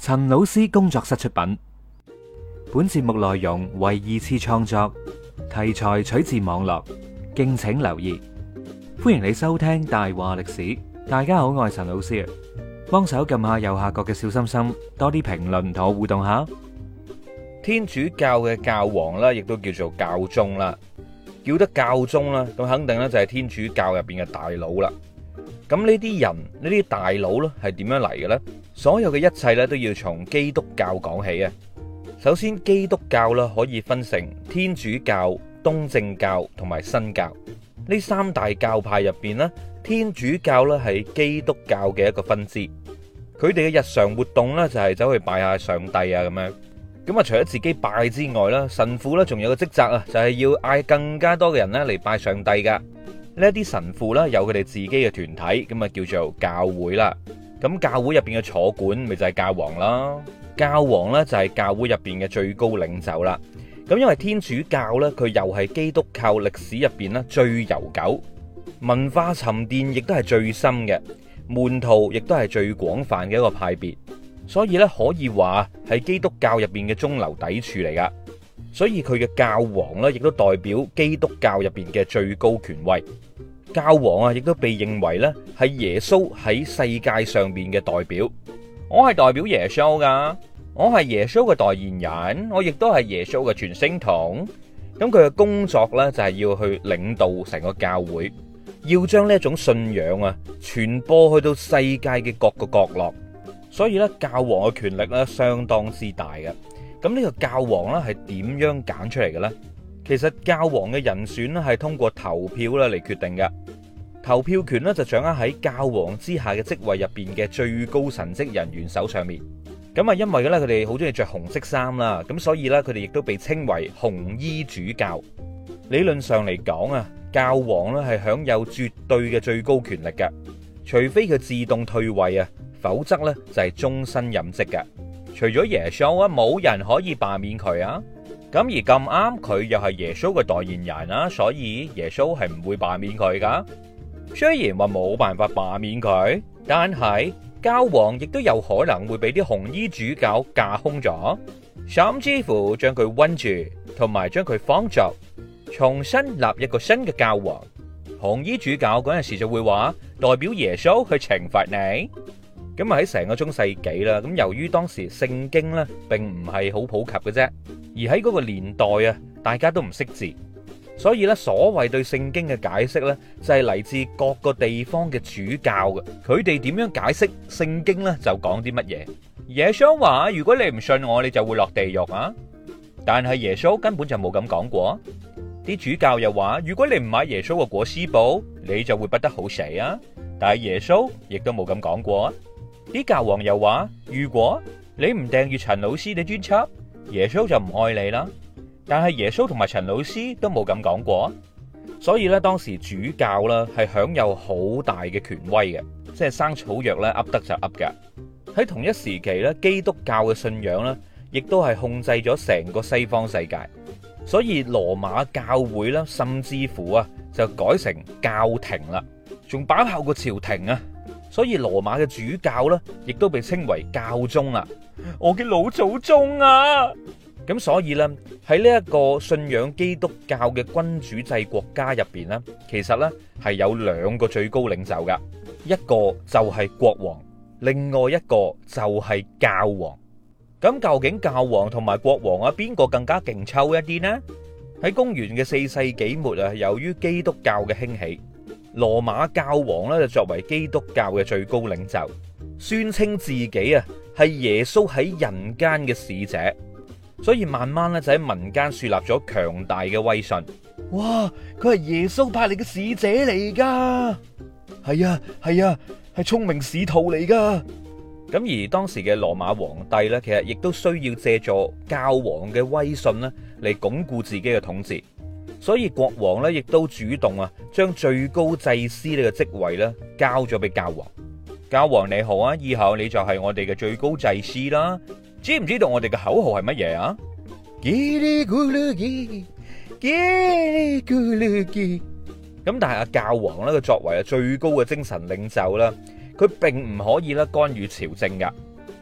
陳老師工作室出品，本節目內容為二次創作，題材取自網絡，敬請留意。歡迎你收聽大話歷史。大家好，我係陳老師啊，幫手撳下右下角嘅小心心，多啲評論同我互動下。 天主教嘅教皇啦，亦都叫做教宗啦，叫得教宗啦，咁肯定咧就係天主教入邊嘅大佬啦。咁呢啲人，呢啲大佬咧係點樣嚟嘅咧？所有嘅一切咧都要從基督教講起啊。首先，基督教啦可以分成天主教、東正教同埋新教呢三大教派入邊咧，天主教咧係基督教嘅一個分支。佢哋嘅日常活動咧就係走去拜下上帝啊咁樣。咁啊，除咗自己拜之外啦，神父咧仲有個職責啊，就係要嗌更加多嘅人咧嚟拜上帝噶。呢一啲神父啦，有佢哋自己嘅團體，咁啊叫做教會啦。咁教會入邊嘅坐管咪就係教皇啦。教皇咧就係教會入邊嘅最高領袖啦。咁因為天主教咧，佢又係基督教歷史入邊咧最悠久、文化沉澱亦都係最深嘅，門徒亦都係最廣泛嘅一個派別。所以咧可以話係基督教入邊嘅中流砥柱嚟噶。所以佢嘅教皇咧，亦都代表基督教入邊嘅最高權威。教皇啊，亦都被認為咧係耶穌喺世界上邊嘅代表。我係代表耶穌噶，我係耶穌嘅代言人，我亦都係耶穌嘅傳聲筒。咁佢嘅工作咧就係要去領導成個教會，要將呢一種信仰啊傳播去到世界嘅各個角落。所以咧，教皇嘅權力咧相當之大嘅。咁呢個教皇咧係點樣揀出嚟嘅咧？其實教皇嘅人選咧係通過投票咧嚟決定嘅。投票權咧就掌握喺教皇之下嘅職位入邊嘅最高神職人員手上面。咁啊，因為咧佢哋好中意着紅色衫啦，咁所以咧佢哋亦都被稱為紅衣主教。理論上嚟講啊，教皇咧係享有絕對嘅最高權力嘅，除非佢自動退位啊，否則咧就係終身任職嘅。除咗耶穌啊，冇人可以罷免佢啊。咁而咁啱佢又係耶穌嘅代言人啊，所以耶穌係唔會罷免佢噶。雖然話冇辦法罷免佢，但係教皇亦都有可能會俾啲紅衣主教架空咗，甚至乎將佢韞住，同埋將佢放逐，重新立一個新嘅教皇。紅衣主教嗰陣時就會話代表耶穌去懲罰你。咁啊喺成個中世紀啦，咁由於當時聖經咧並唔係好普及嘅啫，而喺嗰個年代啊，大家都唔識字，所以咧所謂對聖經嘅解釋咧，就係嚟自各個地方嘅主教嘅，佢哋點樣解釋聖經咧就講啲乜嘢。耶穌話：如果你唔信我，你就會落地獄啊！但係耶穌根本就冇咁講過。啲主教又話：如果你唔買耶穌嘅裹屍布，你就會不得好死啊！但係耶穌亦都冇咁講過啊！啲教皇又話：如果你唔訂閱陳老師嘅專輯，耶穌就唔愛你啦。但係耶穌同埋陳老師都冇咁講過，所以咧當時主教啦係享有好大嘅權威嘅，即係生草藥咧噏得就噏㗎。喺同一時期咧，基督教嘅信仰咧亦都係控制咗成個西方世界，所以羅馬教會啦，甚至乎啊就改成教廷啦，仲把炮過朝廷啊。所以羅馬嘅主教咧，亦都被稱為教宗啦。我嘅老祖宗啊！咁所以咧，喺呢一個信仰基督教嘅君主制國家入邊咧，其實咧係有兩個最高領袖噶，一個就係國王，另外一個就係教皇。咁究竟教皇同埋國王啊，邊個更加勁抽一啲呢？喺公元嘅4世紀末啊，由於基督教嘅興起，羅馬教皇咧就作為基督教嘅最高領袖，宣稱自己啊係耶穌喺人間嘅使者，所以慢慢咧就喺民間樹立咗強大嘅威信。哇！佢係耶穌派嚟嘅使者嚟噶，係啊，係聰明使徒嚟噶。咁而當時嘅羅馬皇帝咧，其實亦都需要借助教皇嘅威信咧嚟鞏固自己嘅統治。所以國王咧亦都主動啊，將最高祭司呢個職位咧交咗俾教皇。教皇你好啊，以後你就係我哋嘅最高祭司啦。知唔知道我哋嘅口號係乜嘢啊？咁但係阿教皇咧，佢作為最高嘅精神領袖啦，佢並唔可以咧干預朝政噶，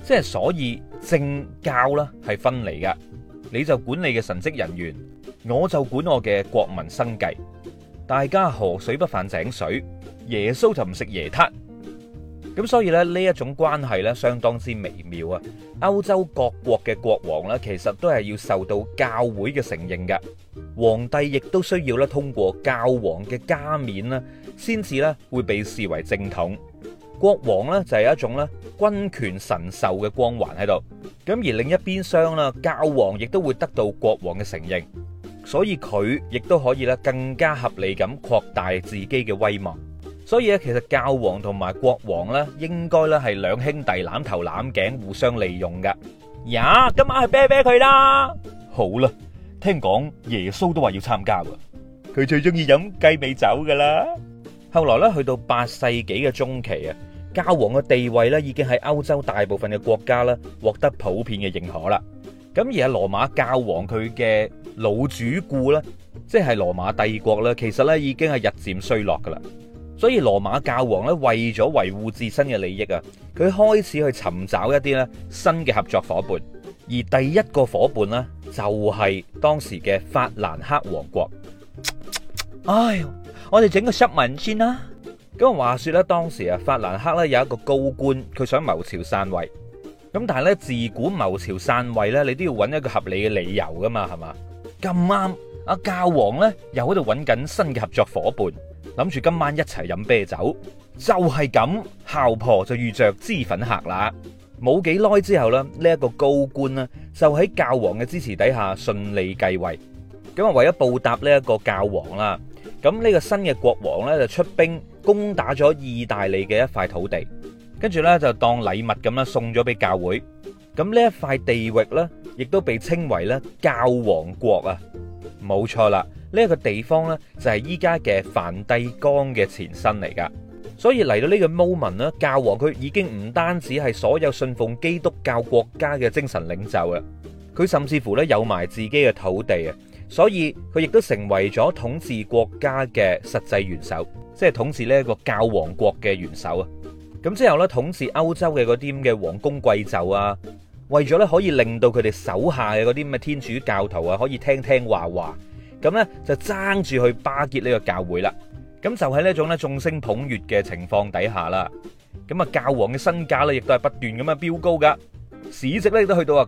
即係所以政教啦係分離嘅，你就管你嘅神職人員，我就管我嘅國民生計，大家河水不犯井水，耶穌就唔食椰撻。咁所以咧呢一種關係咧相當之微妙啊！歐洲各國嘅國王咧，其實都係要受到教會嘅承認嘅，皇帝亦都需要咧通過教皇嘅加冕啦，先至咧會被視為正統。國王咧就係有一種咧君權神授嘅光環喺度，咁而另一邊廂啦，教皇亦都會得到國王嘅承認，所以佢亦都可以咧更加合理咁擴大自己嘅威望。所以咧，其實教皇同埋國王咧，應該咧係兩兄弟攬頭攬頸，互相利用噶。呀，今晚去啤啤佢啦。好啦，聽講耶穌都話要參加喎，佢最中意飲雞尾酒噶啦。後來咧，去到8世紀嘅中期啊，教皇嘅地位咧已經喺歐洲大部分嘅國家咧獲得普遍嘅認可啦。咁而係羅馬教皇佢嘅老主顧咧，即係羅馬帝國咧，其實咧已經係日漸衰落噶啦。所以羅馬教皇咧為咗維護自身嘅利益啊，佢開始去尋找一啲咧新嘅合作伙伴，而第一個伙伴呢，就係當時嘅法蘭克王國。唉，我哋整個濕文先啦。咁話說咧，當時啊法蘭克咧有一個高官，佢想謀朝篡位。咁但係咧自古謀朝篡位咧，你都要揾一個合理嘅理由噶嘛，係嘛？咁啱阿教皇咧又喺度揾緊新嘅合作伙伴。諗住今晚一齊飲啤酒，就係咁，姣婆就遇着脂粉客啦。冇幾耐之後咧，呢一個高官呢，就喺教皇嘅支持底下順利繼位。咁啊，為咗報答呢一個教皇啦，咁呢個新嘅國王呢，就出兵攻打咗意大利嘅一塊土地，跟住呢，就當禮物咁啦送咗俾教會。咁呢一塊地域呢，亦都被稱為咧教皇國啊，冇錯啦。呢一個地方呢，就係依家嘅梵蒂岡嘅前身嚟噶，所以嚟到呢個 moment 呢，教皇佢已經唔單止係所有信奉基督教國家嘅精神領袖啦，佢甚至乎呢有埋自己嘅土地啊，所以佢亦都成為咗統治國家嘅實際元首，即係統治呢一個教皇國嘅元首啊。咁之後呢，統治歐洲嘅嗰啲咁嘅王公貴胄啊，為咗呢可以令到佢哋手下嘅嗰啲咁嘅天主教徒啊，可以聽聽話話。咁咧就爭住去巴結呢個教會啦，咁就喺呢一種咧眾星捧月嘅情況底下啦，咁啊教皇嘅身價咧亦都係不斷咁樣飆高噶，市值咧亦都去到啊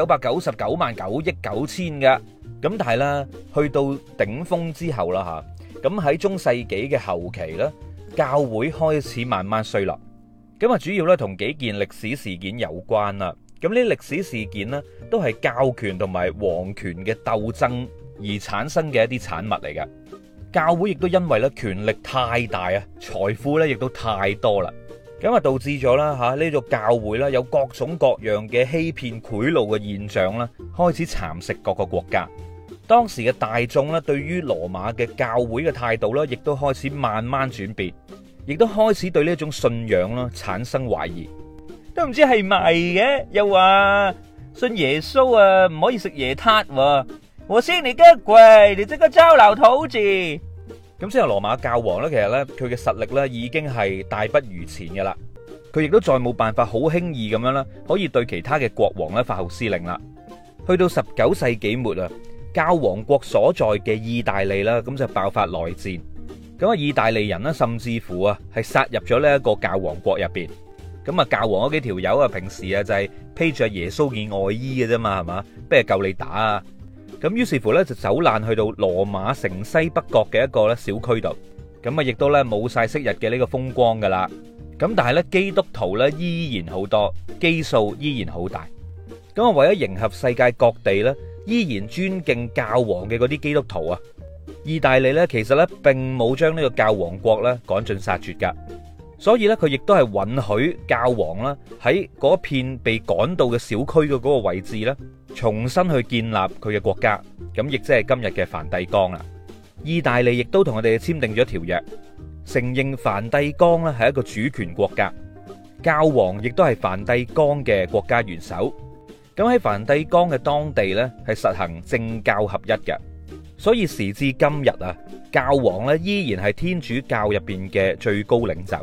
9999萬9億9千噶，咁但係咧去到頂峰之後啦吓，咁喺中世紀嘅後期咧，教會開始慢慢衰落，咁啊主要咧同幾件歷史事件有關啦，咁呢啲歷史事件咧都係教權同埋皇權嘅鬥爭而產生嘅一啲產物嚟嘅，教會亦都因為咧權力太大啊，財富咧亦都太多啦，咁啊導致咗啦吓呢個教會啦有各種各樣嘅欺騙賄賂嘅現象啦，開始蠶食各個國家。當時嘅大眾咧對於羅馬嘅教會嘅態度咧，亦都開始慢慢轉變，亦都開始對呢一種信仰啦產生懷疑，都唔知係咪嘅，又話信耶穌啊唔可以食椰撻喎。我先你嘅鬼，你即刻招鬧土字。咁之後羅馬教皇咧，其實咧佢嘅實力咧已經係大不如前嘅啦，佢亦都再冇辦法好輕易咁樣啦，可以對其他嘅國王咧發號施令啦。去到19世紀末啊，教皇國所在嘅意大利啦，咁就爆發內戰。咁啊，意大利人呢，甚至乎啊係殺入咗呢一個教皇國入邊。咁啊，教皇嗰幾條友啊，平時啊就係披着耶穌件外衣嘅啫嘛，係嘛，不如夠你打啊！咁於是乎咧就走難去到羅馬城西北角嘅一個咧小區度，咁啊亦都咧冇晒昔日嘅呢個風光噶啦。咁但係咧基督徒咧依然好多，基數依然好大。咁啊為咗迎合世界各地咧，依然尊敬教皇嘅嗰啲基督徒啊，意大利咧其實咧並冇將呢個教皇國咧趕盡殺絕噶，所以咧佢亦都係允許教皇啦喺嗰片被趕到嘅小區嘅嗰個位置咧，重新去建立佢嘅國家，咁亦即係今日嘅梵蒂岡啦。意大利亦都同我哋簽訂咗條約，承認梵蒂岡咧係一個主權國家，教皇亦都係梵蒂岡嘅國家元首。咁喺梵蒂岡嘅當地咧係實行政教合一嘅，所以時至今日啊，教皇咧依然係天主教入邊嘅最高領袖。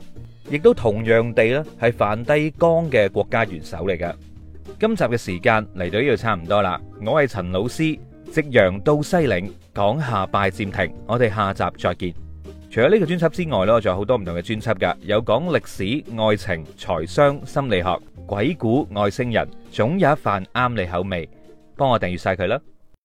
亦都同樣地咧係梵蒂岡嘅國家元首嚟㗎。今集嘅時間嚟到呢度差唔多啦，我係陳老師，夕陽到西嶺，講下拜占庭，我哋下集再見。除咗呢個專輯之外咧，我仲有好多唔同嘅專輯噶，有講歷史、愛情、財商、心理學、鬼故、外星人，總有一瓣啱你口味，幫我訂閱晒佢啦。